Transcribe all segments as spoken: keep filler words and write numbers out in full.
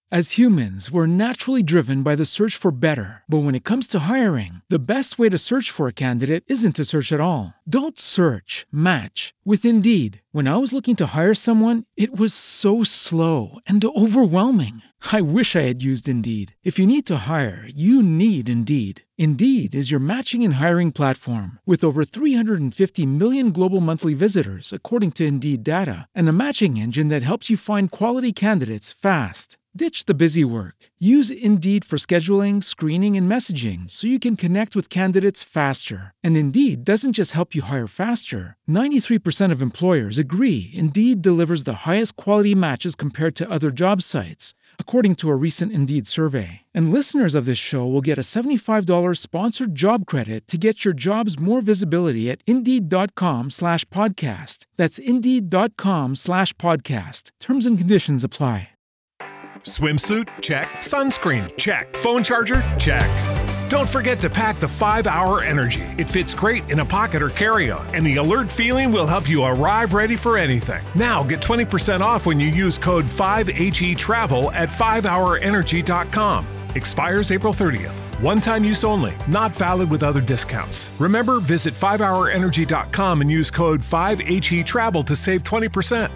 As humans, we're naturally driven by the search for better. But when it comes to hiring, the best way to search for a candidate isn't to search at all. Don't search, match with Indeed. When I was looking to hire someone, it was so slow and overwhelming. I wish I had used Indeed. If you need to hire, you need Indeed. Indeed is your matching and hiring platform with over three hundred fifty million global monthly visitors, according to Indeed data, and a matching engine that helps you find quality candidates fast. Ditch the busy work. Use Indeed for scheduling, screening, and messaging so you can connect with candidates faster. And Indeed doesn't just help you hire faster. ninety-three percent of employers agree Indeed delivers the highest quality matches compared to other job sites, according to a recent Indeed survey. And listeners of this show will get a seventy-five dollars sponsored job credit to get your jobs more visibility at Indeed.com slash podcast. That's Indeed.com slash podcast. Terms and conditions apply. Swimsuit? Check. Sunscreen? Check. Phone charger? Check. Don't forget to pack the five hour Energy. It fits great in a pocket or carry-on, and the alert feeling will help you arrive ready for anything. Now get twenty percent off when you use code five H E travel at five hour energy dot com. Expires April thirtieth. One-time use only. Not valid with other discounts. Remember, visit five hour energy dot com and use code five H E travel to save twenty percent.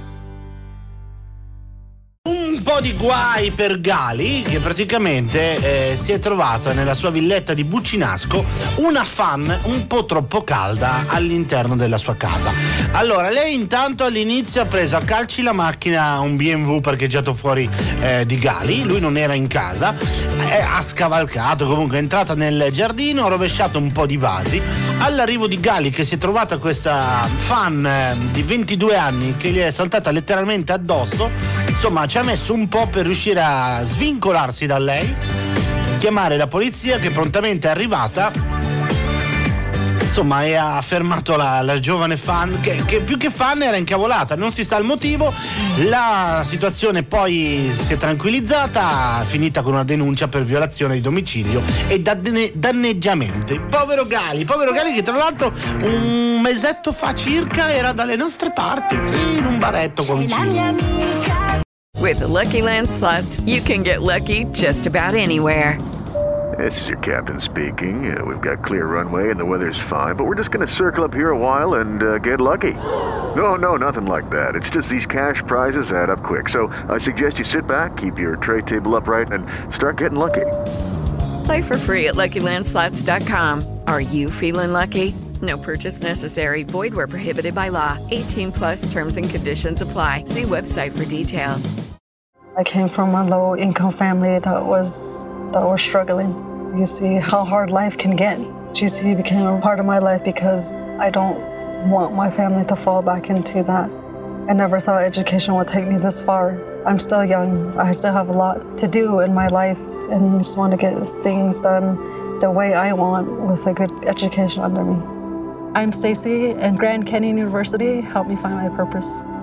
Un po' di guai per Gali, che praticamente eh, si è trovata nella sua villetta di Buccinasco una fan un po' troppo calda all'interno della sua casa. Allora, lei intanto all'inizio ha preso a calci la macchina, un B M W parcheggiato fuori eh, di Gali, lui non era in casa, eh, ha scavalcato, comunque è entrata nel giardino, ha rovesciato un po' di vasi. All'arrivo di Gali, che si è trovata questa fan eh, di ventidue anni che gli è saltata letteralmente addosso, insomma ci ha messo un po' per riuscire a svincolarsi da lei, chiamare la polizia che prontamente è arrivata, insomma, e ha fermato la, la giovane fan che, che più che fan era incavolata, non si sa il motivo. La situazione poi si è tranquillizzata, finita con una denuncia per violazione di domicilio e danne, danneggiamento. Povero Gali, povero Gali che tra l'altro un mesetto fa circa era dalle nostre parti, sì, in un baretto con vicino. With the Lucky Land Slots, you can get lucky just about anywhere. This is your captain speaking. Uh, we've got clear runway and the weather's fine, but we're just going to circle up here a while and uh, get lucky. No, no, nothing like that. It's just these cash prizes add up quick. So I suggest you sit back, keep your tray table upright, and start getting lucky. Play for free at Lucky Land Slots dot com. Are you feeling lucky? No purchase necessary. Void where prohibited by law. eighteen plus terms and conditions apply. See website for details. I came from a low-income family that was that was struggling. You see how hard life can get. G C became a part of my life because I don't want my family to fall back into that. I never thought education would take me this far. I'm still young. I still have a lot to do in my life and just want to get things done the way I want with a good education under me. I'm Stacy, and Grand Canyon University helped me find my purpose.